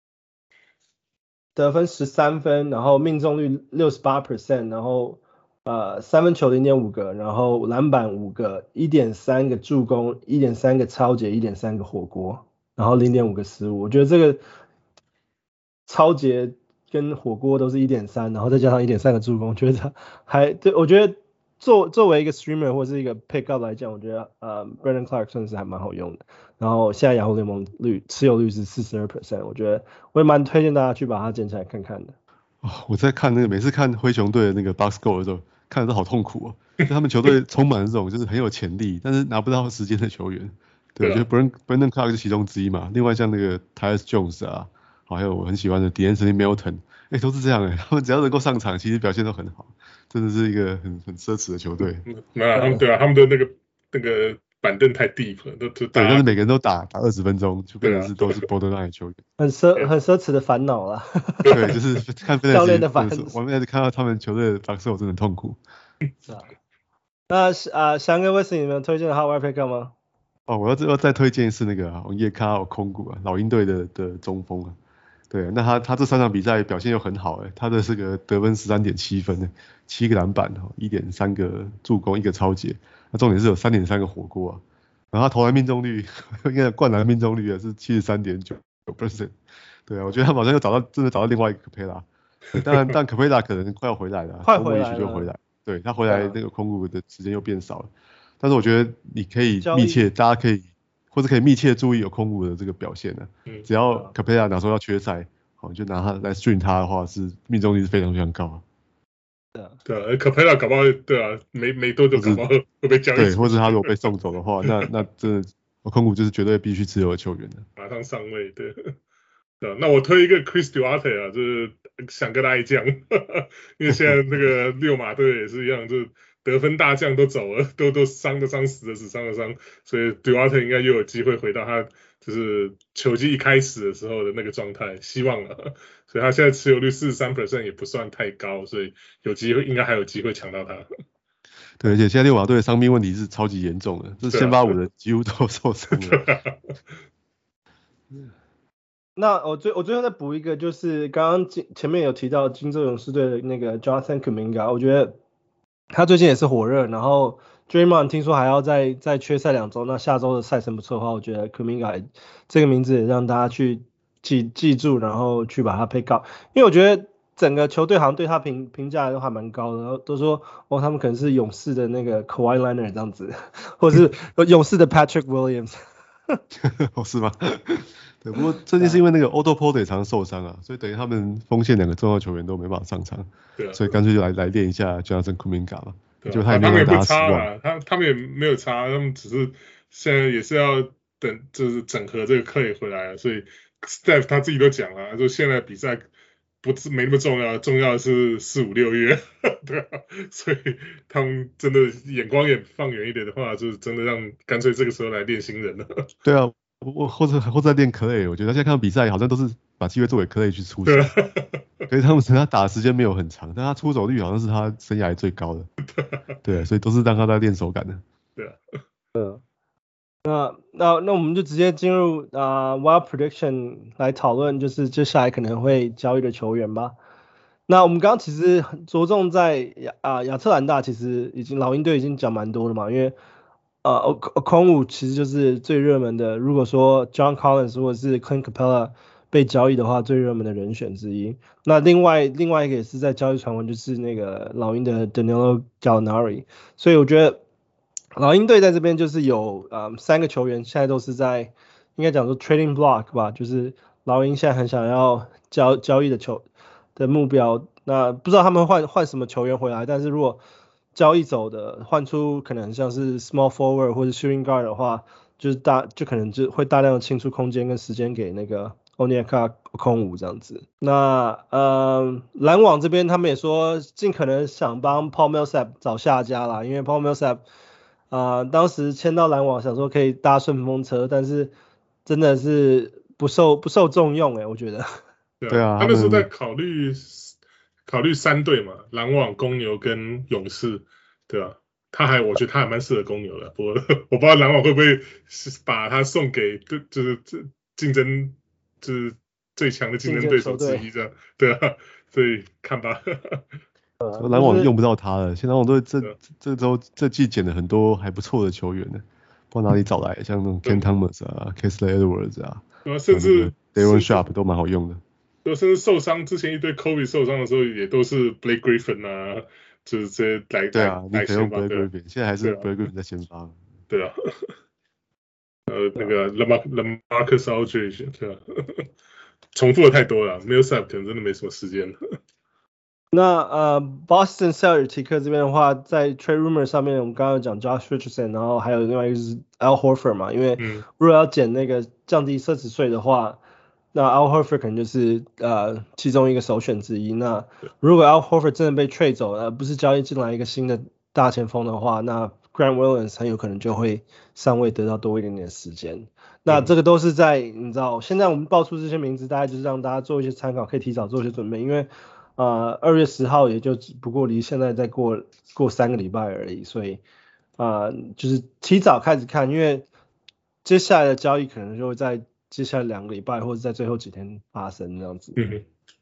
得分十三分，然後命中率 百分之六十八， 然後呃三分球 零點五個，然後籃板五個 一點三 個助攻 一點三 個抄截 一點三 個火鍋，然後 零點五 個失誤。我覺得這個抄截跟火鍋都是 一點三，然後再加上 一點三 個助攻，覺得還對，我覺得作作為一個 streamer 或是一個 pick up 來講，我覺得呃 Brandon Clarke 算是還蠻好用的。然後現在雅虎聯盟率持有率是 百分之四十二， 我覺得我也蠻推薦大家去把它撿起來看看的。 哦，我在看那個每次看灰熊隊的那個 box score 的時候，看的都好痛苦哦。他們球隊充滿了這種就是很有潛力，但是拿不到時間的球員。對，我覺得 Brandon Brandon Clarke 是其中之一嘛。另外像那個 Tyus Jones 啊，還有我很喜歡的 De'Anthony Melton， 哎，都是這樣哎。他們只要能夠上場，其實表現都很好，真的是一個很很奢侈的球隊。 沒有，他們對啊，他們的那個那個板凳太 deep 了，都都對，但是每個人都打打二十分鐘，就變成是都是 borderline 球員， 很奢很奢侈的煩惱啦。 對，就是看教練的煩惱。 我們看到他們球隊的 box score 真的很痛苦。 是啊。那啊，翔哥、Wesley，你們推薦的 Hot Wire Pick 嗎？ 哦，我要再要再推薦是那個王葉卡奧空谷啊，老鷹隊的的中鋒啊。對，那他他這三場比賽表現又很好哎，他的這個得分 十三點七 分，七個籃板，一點三個助攻，一個抄截。那重點是有 三點三 個火鍋啊。然後他投籃命中率，應該灌籃命中率也是 七十三點九 percent。對啊，我覺得他馬上又找到真的找到另外一個 Capela。當然，但 Capela 可能快要回來了， 快回來了， 就回來。對，他回來那個空谷的時間又變少了。但是我覺得你可以密切，大家可以或者可以密切注意有空谷的這個表現呢、啊。只要 Capela 哪時候要缺賽，好，就拿他來 stream 他的話，是命中率是非常非常高啊。 對啊 ，Capela 搞不好對啊，沒沒多久搞不好會被交易。 對，或者他如果被送走的話，那那真的空谷就是絕對必須持有的球員的。 馬上上位，對。對，那我推一個 Chris Duarte 啊，就是想跟他一將，因為現在那個溜馬隊也是一樣，就是得分大將都走了，都都傷的傷死的死，傷的傷，所以 Duarte 應該又有機會回到他就是球季一開始的時候的那個狀態，希望了。所以他現在持有率 百分之四十三 也不算太高，所以有機會，應該還有機會搶到他。 對，而且現在溜馬隊的傷病問題是超級嚴重的，這先發五的幾乎都受傷了。 那我最我最後再補一個，就是剛剛前面有提到金州勇士隊的那個 Jonathan Kuminga， 我覺得他最近也是火熱，然後 Draymond 聽說還要再再缺賽兩周，那下周的賽程不錯的話，我覺得 Kuminga 這個名字也讓大家去記記住，然後去把它 pick up，因為我覺得整個球隊好像對他評評價都還蠻高的，然後都說哦他們可能是勇士的那個 Kawhi Leonard 這樣子，或者是勇士的 Patrick Williams。 哦，是嗎？對，不過最近是因為那個 Otto Porter 也常受傷啊，所以等於他們鋒線兩個重要球員都沒辦法上場，對啊，所以乾脆就來來練一下 Jonathan Kuminga 嘛，就他也沒有打失望， 他他們也沒有差，他們只是現在也是要等，就是整合這個 Clay 回來了，所以 Steph 他自己都講了，就現在比賽不是沒那麼重要，重要的是四五六月，對啊，所以他們真的眼光也放遠一點的話，就是真的讓乾脆這個時候來練新人了。對啊。 我或者或者在練 Clay， 我覺得現在看到比賽好像都是把機會做給 Clay 去出手，所以他們他打的時間沒有很長，但他出手率好像是他生涯最高的，對，所以都是讓他在練手感的。 對啊， 嗯，那那那我們就直接進入啊、uh, Wild Prediction 來討論，就是接下來可能會交易的球員吧。那我們剛剛其實着重在亞啊亞特蘭大，其實已經老鷹隊已經講蠻多了嘛，因為呃，空谷其實就是最熱門的。如果說 John Collins 或者是 Clint Capela 被交易的話，最熱門的人選之一。那另外另外一個也是在交易傳聞，就是那個老鷹的 Danilo Gallinari。所以我覺得老鷹隊在這邊就是有呃三個球員，現在都是在應該講說 trading block 吧，就是老鷹現在很想要交交易的球的目標。那不知道他們換換什麼球員回來，但是如果交易走的換出可能像是 small forward 或者 shooting guard 的話，就是大就可能就會大量的清出空間跟時間給那個 Onyeka Okongwu 這樣子。那呃籃網這邊他們也說盡可能想幫 Paul Millsap 找下家啦，因為 Paul Millsap 啊、呃、當時簽到籃網想說可以搭順風車，但是真的是不受不受重用誒、欸、我覺得。 對啊，他們是在考慮。考慮三隊嘛，籃網、公牛跟勇士，對吧、啊？他還，我覺得他還蠻適合公牛的。不過我不知道籃網會不會把他送給，就是競爭，就是最強的競爭對手之一這樣，對啊。所以看吧。 籃網用不到他了，現在籃網隊這這週這季撿了很多還不錯的球員呢，不知道哪裡找來，像那種 Ken Thomas 啊、Kessler Edwards 啊， 甚至 Daron Sharpe 都蠻好用的。 甚至受傷之前一堆 Kobe 受傷的時候，也都是 Blake Griffin 啊，就是這些來對啊， 來你可以用 Blake 對 Griffin，現在還是 Blake Griffin 在先發。 對啊，呃，那個 LaMarcus Aldridge， 對啊，重複的太多了 ，Millsap 可能真的沒什麼時間了。 那呃，Boston 塞爾提克這邊的話，在 trade rumor 上面，我們剛剛講 Josh Richardson， 然後還有另外一個是 Al Horford 嘛，因為如果要減那個降低奢侈稅的話，那 Al Horford 可能就是呃其中一個首選之一。那如果 Al Horford 真的被 trade 走了，而不是交易進來一個新的大前鋒的話，那 Grant Williams 很有可能就會上位得到多一點點時間。那這個都是在你知道，現在我們爆出這些名字，大概就是讓大家做一些參考，可以提早做一些準備，因為。呃，二月十號也就只不過離現在再過過三個禮拜而已，所以啊、呃，就是提早開始看，因為接下來的交易可能就會在接下來兩個禮拜或者在最後幾天發生這樣子。嗯、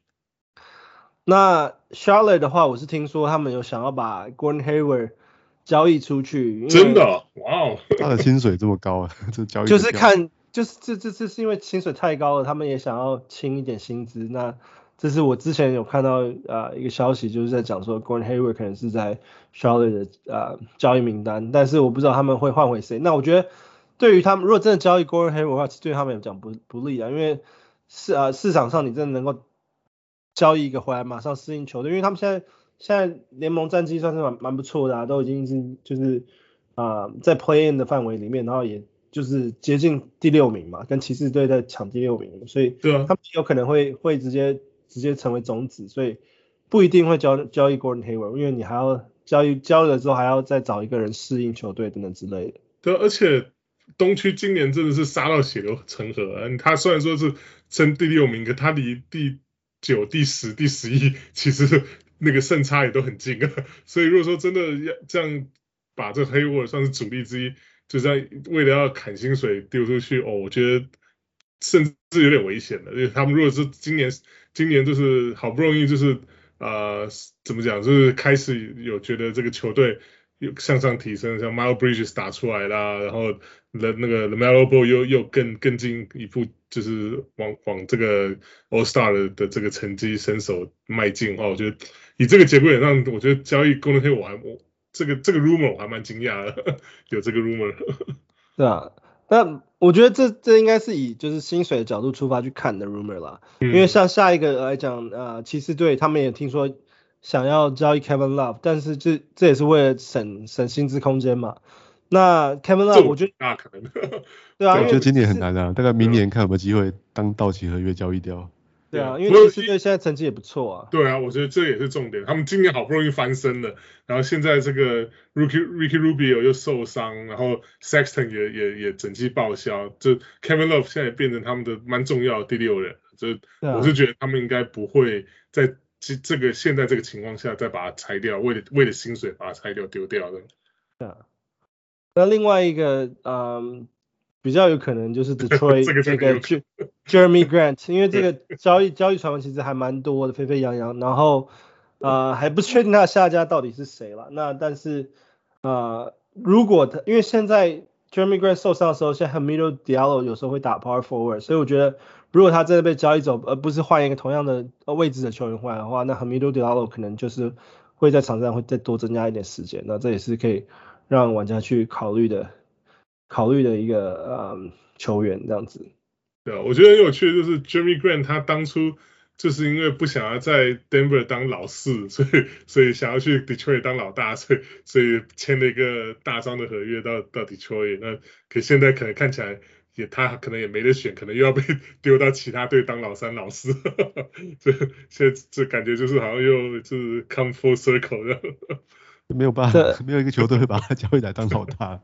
那 Charlotte 的話，我是聽說他們有想要把 Gordon Hayward 交易出去， 真的，哇哦， 他的薪水這麼高啊，這交易就是看，就是這這這是因為薪水太高了，他們也想要清一點薪資，那。這是我之前有看到呃一個消息，就是在講說 Gordon Hayward 可能是在 Charlotte 的呃交易名單，但是我不知道他們會換回誰。那我覺得對於他們，如果真的交易 Gordon Hayward 的話，對他們來講不不利啊，因為市呃市場上你真的能夠交易一個回來馬上適應球隊，因為他們現在現在聯盟戰績算是蠻蠻不錯的啊，都已經是就是啊、呃、在 Play In 的範圍裡面，然後也就是接近第六名嘛，跟騎士隊在搶第六名，所以他們有可能會會直接。直接成為種子，所以不一定會交交易 Gordon Hayward，因為你還要交易交易了之後還要再找一個人適應球隊等等之類的。 對，而且東區今年真的是殺到血流成河啊！他雖然說是爭第六名，可他離第九、第十、第十一其實那個勝差也都很近啊。所以如果說真的要這樣把這 Hayward 算是主力之一，就在為了要砍薪水丟出去哦，我覺得甚至有點危險了。因為他們如果是今年。今年就是好不容易就是呃怎麼講，就是開始有覺得這個球隊有向上提升，像 Miles Bridges 打出來啦，然後那那個 LaMelo Ball 又又更更進一步，就是往往這個 All Star 的, 的這個成績身手邁進哦。我覺得以這個節骨眼上，我覺得交易 Gordon Hayward 我還我這個這個 rumor 我還蠻驚訝的，有這個 rumor。 對啊。那我覺得這這應該是以就是薪水的角度出發去看的 rumor 啦，嗯、因為像下一個來講，呃，騎士隊他們也聽說想要交易 Kevin Love，但是這這也是為了省省薪資空間嘛。那 Kevin Love 我覺得那可能， 對啊， 我覺得今年很難啊，大概明年看有沒有機會當到期合約交易掉。 對啊，因為騎士隊現在成績也不錯啊。 對啊，我覺得這也是重點。他們今年好不容易翻身了，然後現在這個 Ricky Ricky Rubio 又受傷，然後 Sexton 也也也整季報銷，就 Kevin Love 現在變成他們的蠻重要的第六人。就我是覺得他們應該不會在這個現在這個情況下再把它拆掉，為了為了薪水把它拆掉丟掉的。 對啊。那另外一個，嗯。比較有可能就是 Detroit 這個 Jeremy Grant， 因為這個交易交易傳聞其實還蠻多的，沸沸揚揚，然後呃還不確定他的下家到底是誰了。那但是呃如果他因為現在 Jeremy Grant 受傷的時候，現在 Hamidou Diallo 有時候會打 Power Forward， 所以我覺得如果他真的被交易走，而不是換一個同樣的位置的球員回來的話，那 Hamidou Diallo 可能就是會在場上會再多增加一點時間，那這也是可以讓玩家去考慮的。考慮的一個呃球員這樣子。 對啊，我覺得很有趣的就是 Jeremy Grant 他當初就是因為不想要在 Denver 當老四，所以所以想要去 Detroit 當老大，所以所以簽了一個大張的合約到到 Detroit。那可現在可能看起來也他可能也沒得選，可能又要被丟到其他隊當老三老四。這現在這感覺就是好像又就是 come full circle 的。 沒有辦法，沒有一個球隊會把他交易來當老大。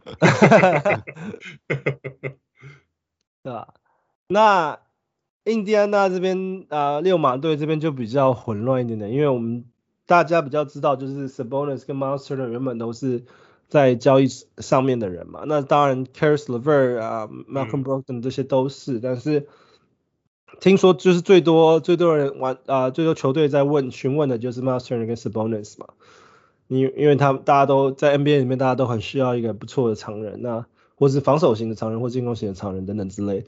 對吧？那印第安納這邊啊、呃，溜馬隊這邊就比較混亂一點點，因為我們大家比較知道，就是 Sabonis 跟 Miles Turner 原本都是在交易上面的人嘛。那當然 Caris LeVert 啊、Malcolm Brogdon 這些都是，嗯、但是聽說就是最多最多人玩啊、呃，最多球隊在問詢問的就是 Miles Turner 跟 Sabonis 嘛。因因為他們大家都在 N B A 裡面，大家都很需要一個不錯的長人，那或是防守型的長人，或進攻型的長人等等之類。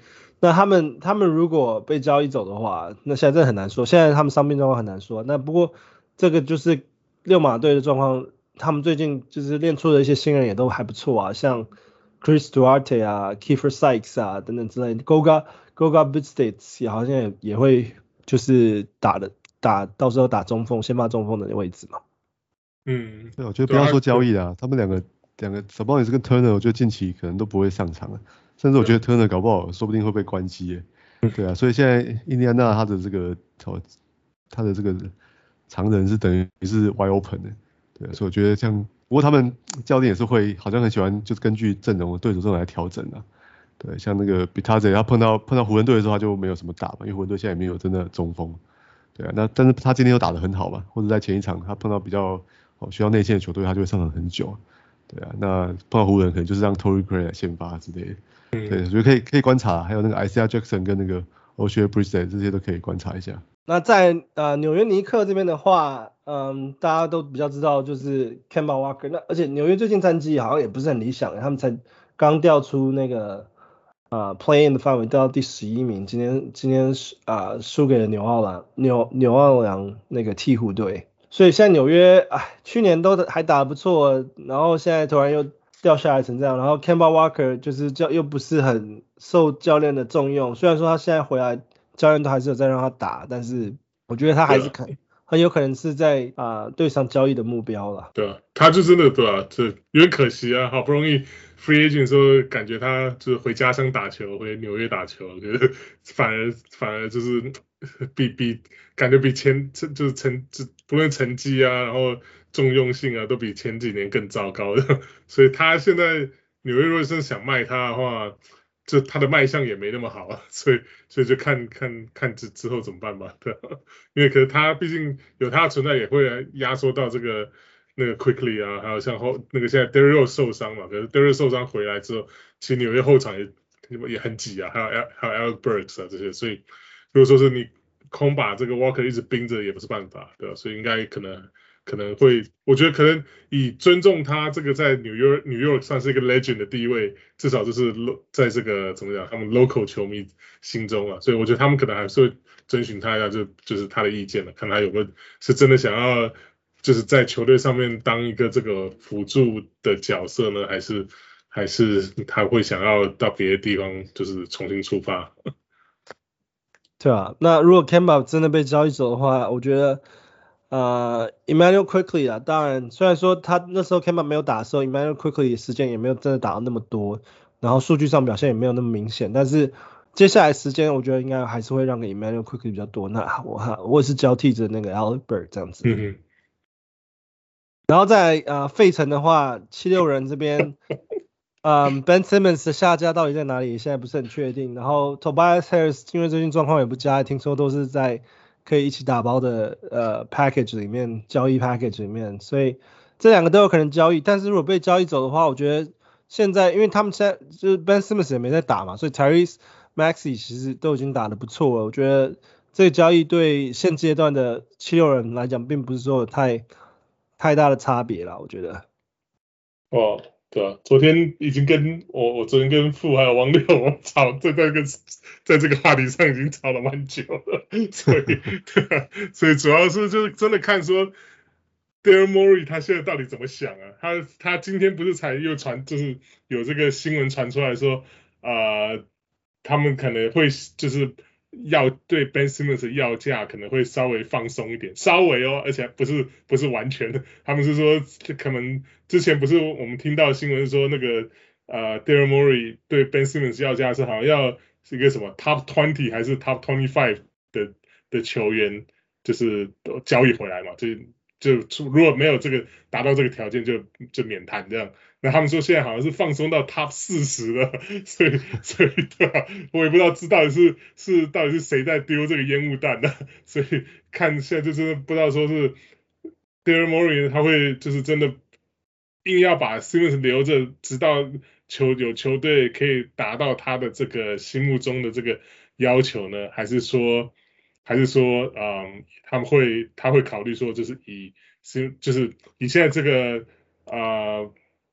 那他們他們如果被交易走的話，那現在真的很難說。現在他們傷病狀況很難說。那不過這個就是溜馬隊的狀況，他們最近就是練出的一些新人也都還不錯啊，像 Chris Duarte 啊、Kiefer Sykes 啊等等之類的 ，Goga Goga Bitadze 也好像也也會就是打的打到時候打中鋒，先發中鋒的位置嘛。 嗯， 對，我覺得不要說交易啊，他們兩個兩個 Sabonis 跟 Turner， 我覺得近期可能都不會上場了，甚至我覺得 Turner 搞不好說不定會被關機耶。對啊，所以現在印第安納他的這個他的這個常人是等於是 wide open 的，對啊，所以我覺得像不過他們教練也是會好像很喜歡就是根據陣容對手陣容來調整啊。對，像那個 Bitadze 他碰到碰到湖人隊的時候他就沒有什麼打嘛，因為湖人隊現在也沒有真的中鋒。對啊，那但是他今天又打得很好嘛，或者在前一場他碰到比較哦需要內線的球隊，他就會上場很久。對啊，那碰到湖人可能就是讓 Torrey Craig 來先發之類的。嗯、對，所以可以可以觀察，還有那個 Isaiah Jackson 跟那個 Oshae Brissett 這些都可以觀察一下。 那在呃紐約尼克這邊的話，嗯，大家都比較知道就是 Kemba Walker， 那而且紐約最近戰績好像也不是很理想，他們才剛掉出那個呃 Play In 的範圍，掉到第十一名，今天今天啊輸給了紐奧良紐紐奧良那個鵜鶘隊，所以現在紐約哎去年都還打得不錯，然後現在突然又掉下來成這樣，然後 Kemba Walker 就是教又不是很受教練的重用，雖然說他現在回來教練都還是有在讓他打，但是我覺得他還是可很有可能是在啊隊上交易的目標了。 對啊，他就真的對啊，這有點可惜啊，好不容易 free agent 的時候感覺他就是回家鄉打球，回紐約打球，我覺得反而反而就是比比感覺比前就是成不論成績啊，然後重用性啊，都比前幾年更糟糕的，所以他現在紐約如果是想賣他的話，就他的賣相也沒那麼好啊，所以所以就看看看之之後怎麼辦吧，對，因為可是他畢竟有他的存在，也會壓縮到這個那個 Quickly 啊，還有像後那個現在 Derrick Rose 受傷嘛，可是 Derrick Rose 受傷回來之後，其實紐約後場也也很擠啊，還有還有 Alec Burks 啊這些，所以如果說是你空把這個 Walker 一直盯着也不是辦法，對吧？所以應該可能。可能會，我覺得可能以尊重他這個在紐約紐約算是一個 legend 的地位，至少就是在這個怎麼講，他們 local 球迷心中啊，所以我覺得他們可能還是會徵詢他一下，就就是他的意見了，看他有沒有是真的想要就是在球隊上面當一個這個輔助的角色呢，還是還是他會想要到別的地方就是重新出發。 對啊，那如果 Kemba 真的被交易走的話，我覺得。呃 Immanuel Quickley 啊，當然雖然說他那時候 Kemba 沒有打的時候 Immanuel Quickley 時間也沒有真的打到那麼多，然後數據上表現也沒有那麼明顯，但是接下來時間我覺得應該還是會讓給 Immanuel Quickley 比較多，那我我也是交替着那個 Alec Burks 這樣子。嗯哼。然後在呃費城的話，七六人這邊，嗯 Ben Simmons 的下家到底在哪裡？現在不是很確定。然後 Tobias Harris 因為最近狀況也不佳，聽說都是在可以一起打包的呃 package 裡面，交易 package 裡面，所以這兩個都有可能交易。但是如果被交易走的話，我覺得現在因為他們現在就是 Ben Simmons 也沒在打嘛，所以 Tyrese Maxey 其實都已經打得不錯了。我覺得這個交易對現階段的七六人來講，並不是說有太太大的差別啦，我覺得。 哦。對啊，昨天已經跟我，我昨天跟傅還有王六吵，在這個在這個話題上已經吵了蠻久了，所以對啊，所以主要是就是真的看說 Daryl Morey 他現在到底怎麼想啊？他他今天不是才又傳，就是有這個新聞傳出來說，呃，他們可能會就是要對 Ben Simmons 的要價可能會稍微放鬆一點，稍微哦，而且不是不是完全的，他們是說可能之前不是我們聽到新聞說那個呃 Daryl Morey 對 Ben Simmons 要價是好像要是一個什麼 Top 二十還是 Top 二十五的的球員，就是交易回來嘛，就就如果沒有這個達到這個條件就就免談這樣。那他們說現在好像是放鬆到 Top 四十了，所以所以對吧？我也不知道這到底是是到底是誰在丟這個煙霧彈呢？所以看現在就真的不知道說是 Daryl Morey 他會就是真的硬要把 Simmons 留着，直到球有球隊可以達到他的這個心目中的這個要求呢？還是說還是說嗯他們會他會考慮說就是以就是以現在這個呃。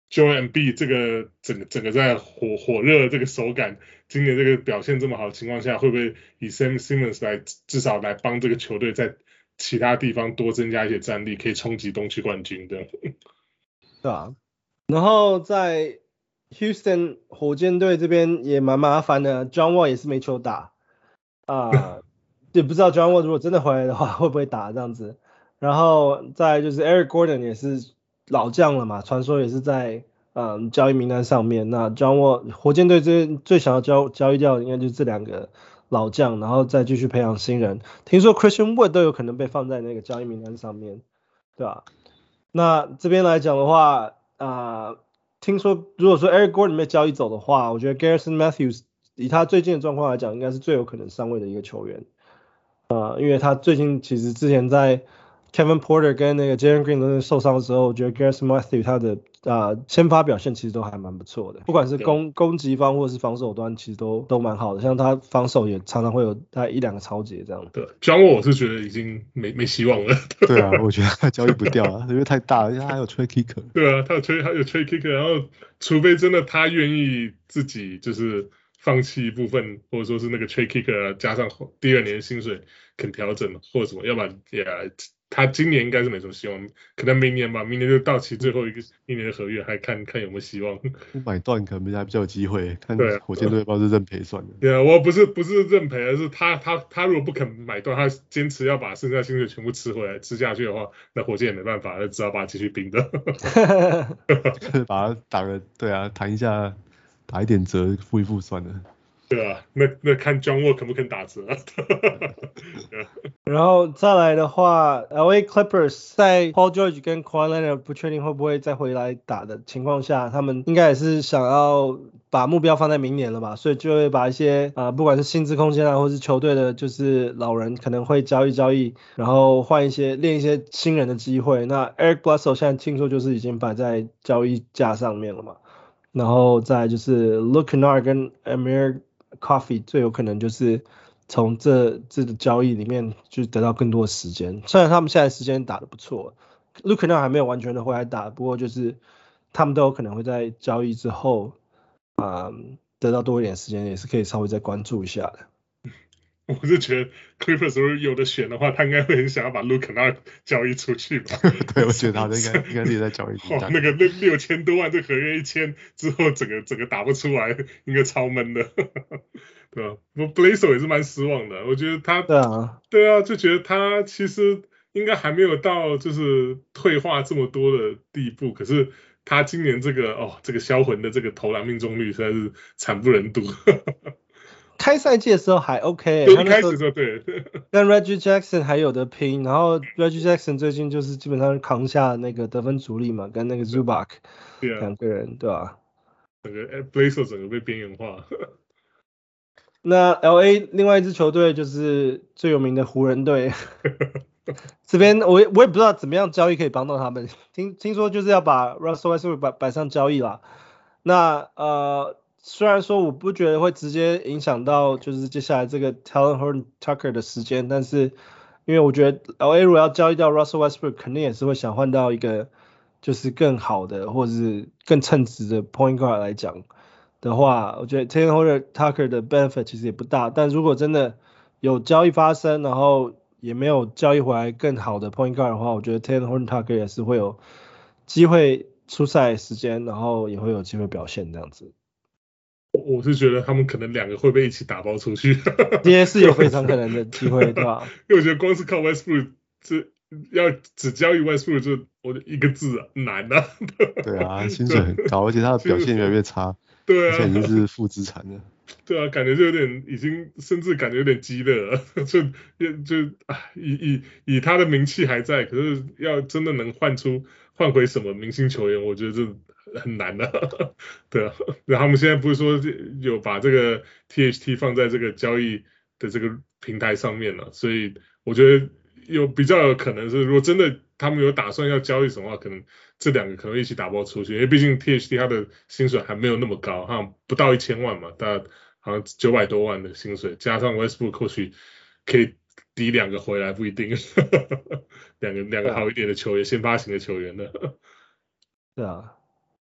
Joel Embiid 這個整個整個在火火熱的這個手感，今年這個表現這麼好的情況下，會不會以 Sam Simmons 來至少來幫這個球隊在其他地方多增加一些戰力，可以衝擊東區冠軍的？ 對啊，然後在 Houston 火箭隊這邊也蠻麻煩的 ，John Wall 也是沒球打啊，呃、也不知道 John Wall 如果真的回來的話會不會打這樣子。然後再就是 Eric Gordon 也是老將了嘛，傳說也是在嗯交易名單上面。那 John Wall 火箭隊這邊最想要交交易掉的應該就是這兩個老將，然後再繼續培養新人。聽說 Christian Wood 都有可能被放在那個交易名單上面，對吧？那這邊來講的話，啊、呃，聽說如果說 Eric Gordon 被交易走的話，我覺得 Garrison Matthews 以他最近的狀況來講，應該是最有可能上位的一個球員。呃，因為他最近其實之前在 Kevin Porter 跟那個 Jalen Green 都受傷的時候，我覺得 Garrison Matthews 他的啊、呃、先發表現其實都還蠻不錯的，不管是攻攻擊方或是防守端，其實都都蠻好的。像他防守也常常會有大概一兩個抄截這樣。 對，John Wall 我是覺得已經沒沒希望了。 對啊，我覺得他交易不掉啊，因為太大了，因為他還有 Trey Kicker。 對啊，他有 Trey 還有 Trey Kicker， 然後除非真的他願意自己就是放棄一部分，或者說是那個 Trey Kicker 加上第二年的薪水肯調整或者什麼，要不然也。Yeah, 他今年應該是沒什麼希望，可能明年吧，明年就到期最後一個一年的合約，還看看有沒有希望。 不買斷可能還比較有機會，看火箭隊要不要是認賠算了。 對啊，我不是不是認賠，而是他他他如果不肯買斷，他堅持要把剩下薪水全部吃回來吃下去的話，那火箭也沒辦法，那只好把他繼續冰着。 就是把他打個對啊，談一下，打一點折付一付算了。 對啊，那那看 John Wall 肯不肯打折啊。 然後再來的話 ，L A Clippers 在 Paul George 跟 Kawhi Leonard 不確定會不會再回來打的情況下，他們應該也是想要把目標放在明年了吧，所以就會把一些啊、呃，不管是薪資空間啊，或是球隊的，就是老人可能會交易交易，然後換一些練一些新人的機會。那 Eric Bledsoe 現在聽說就是已經擺在交易架上面了嘛，然後再來就是 Luke Kennard 跟 Amir Coffey 最有可能就是從這這個交易裡面就得到更多的時間，雖然他們現在時間打得不錯 ，Luke Kennard 還沒有完全的回來打，不過就是他們都有可能會在交易之後啊、嗯、得到多一點時間，也是可以稍微再關注一下的。 我是覺得 Clippers 如果有的選的話，他應該會很想要把 Luke Kennard 交易出去吧。 對，我覺得他應該應該是在交易。 哦，那個那六千多萬這合約一簽之後，整個整個打不出來，應該超悶的。對吧？不 Bledsoe 也是蠻失望的，我覺得他對啊，對啊，就覺得他其實應該還沒有到就是退化這麼多的地步，可是他今年這個哦，這個銷魂的這個投籃命中率實在是慘不忍睹。 開賽季的時候還 OK， 對，一開始的時候對， 跟 Reggie Jackson 還有得拼，然後 Reggie Jackson 最近就是基本上扛下那個得分主力嘛，跟那個 Zubac 兩個人，對吧、啊？ 整個 Bledsoe 整個被邊緣化。 那 L A 另外一支球隊就是最有名的湖人隊，這邊我我也不知道怎麼樣交易可以幫到他們，聽聽說就是要把 Russell Westbrook 擺擺上交易啦。那呃。雖然說我不覺得會直接影響到就是接下來這個 Talen Horton-Tucker 的時間，但是因為我覺得 L A 如果要交易掉 Russell Westbrook， 肯定也是會想換到一個就是更好的或者是更稱職的 Point Guard 來講的話，我覺得 Talen Horton-Tucker 的 benefit 其實也不大，但如果真的有交易發生，然後也沒有交易回來更好的 Point Guard 的話，我覺得 Talen Horton-Tucker 也是會有機會出賽時間，然後也會有機會表現這樣子。 我是覺得他們可能兩個會被一起打包出去， 也是有非常可能的機會，對吧？ 因為我覺得光是靠 Westbrook 這要只交易 Westbrook 就我的一個字啊，難啊。 對啊，薪水很高，而且他的表現越來越差， 對啊， 而且已經是負資產了。 對啊，感覺就有點已經甚至感覺有點雞肋了，就就啊以以以他的名氣還在，可是要真的能換出換回什麼明星球員，我覺得這很難的、啊，對啊，然後他們現在不是說有把這個 T H T 放在這個交易的這個平台上面了，所以我覺得有比較有可能是，如果真的他們有打算要交易什麼話，可能這兩個可能一起打包出去，因為畢竟 T H T 他的薪水還沒有那麼高，好像不到一千萬嘛，大概好像九百多萬的薪水，加上 Westbrook 或許可以抵兩個回來，不一定，兩個兩個好一點的球員，先發型的球員的， 對啊。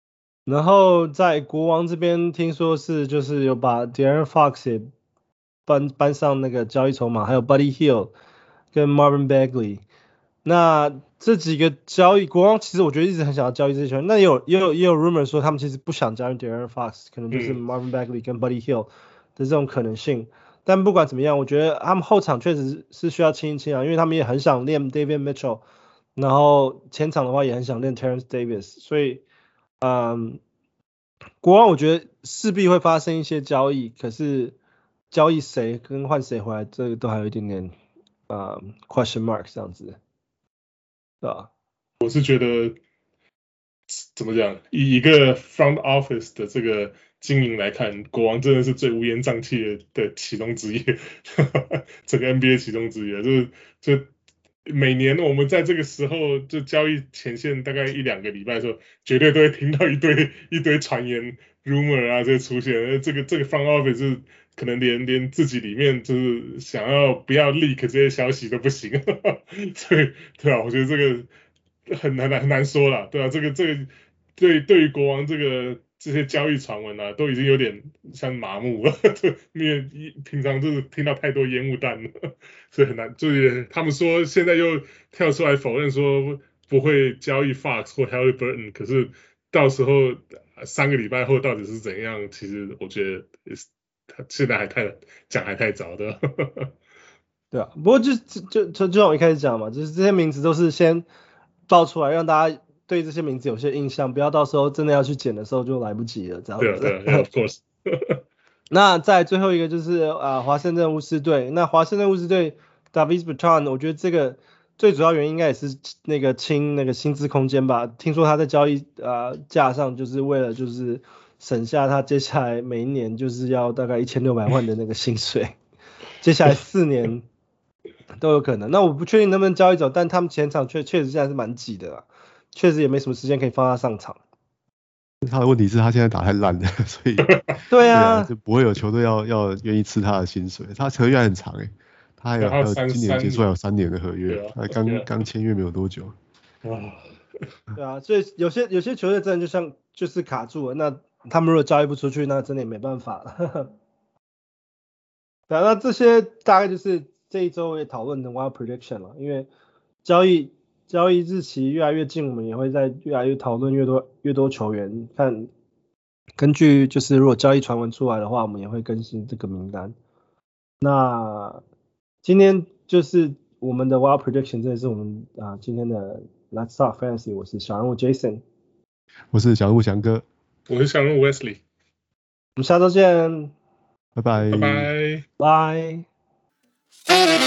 然後在國王這邊聽說是就是有把 De'Aaron Fox 也搬搬上那個交易籌碼，還有 Buddy Hield 跟 Marvin Bagley。那這幾個交易，國王其實我覺得一直很想要交易這些球員。那也有也有也有 rumor 說他們其實不想交易 De'Aaron Fox， 可能就是 Marvin Bagley 跟 Buddy Hield 的這種可能性。但不管怎麼樣，我覺得他們後場確實是需要清一清啊，因為他們也很想練 Davion Mitchell， 然後前場的話也很想練 Terence Davis， 所以嗯，國王我覺得勢必會發生一些交易，可是交易誰跟換誰回來，這個都還有一點點呃 question mark 這樣子。啊， 我是覺得怎麼講，以一個 front office 的這個經營來看，國王真的是最烏煙瘴氣的的其中之一，整個 N B A 其中之一，就是就每年我們在這個時候就交易前線大概一兩個禮拜的時候，絕對都會聽到一堆一堆傳言 rumor 啊這些出現，這個這個 front office 就是可能連連自己裡面就是想要不要 leak 這些消息都不行，所以對啊，我覺得這個很難很難說啦，對啊，這個這個對對於國王這個這些交易傳聞啊，都已經有點像麻木了，因為平常就是聽到太多煙霧彈了，所以很難。就是他們說現在又跳出來否認說不會交易 Fox 或 Haliburton， 可是到時候三個禮拜後到底是怎樣，其實我覺得他現在還太講還太早的。 對啊，不過就就就就像我一開始講嘛，就是這些名字都是先爆出來，讓大家對這些名字有些印象，不要到時候真的要去撿的時候就來不及了，這樣子。 對啊，對啊 ，of course。 那再最後一個就是啊，華盛頓巫師隊。那華盛頓巫師隊 Davis Bertans， 我覺得這個最主要原因應該也是那個清那個薪資空間吧。聽說他在交易啊價上，就是為了就是省下他接下來每一年就是要大概一千六百萬的那個薪水，接下來四年都有可能。那我不確定能不能交易走，但他們前場確確實現在是蠻擠的啦，確實也沒什麼時間可以放他上場。 他的問題是他現在打太爛了，所以對啊， 對啊，就不會有球隊要要願意吃他的薪水。他合約還很長哎，他還有還有今年結束還有三年的合約，他剛剛簽約沒有多久。 對啊，所以有些有些球隊真的就像就是卡住了，那他們如果交易不出去，那真的也沒辦法了。對啊，那這些大概就是這一周也討論的 Wild Prediction 了，因為交易交易日期越來越近，我們也會在越來越討論越多越多球員，看根據就是如果交易傳聞出來的話，我們也會更新這個名單。那今天就是我們的 Wild Prediction，這也是我們啊今天的 Let's Talk Fantasy， 我是小人物 Jason， 我是小人物翔哥， 我是小人物 Wesley， 我們下周見， 拜拜， 拜拜， 拜。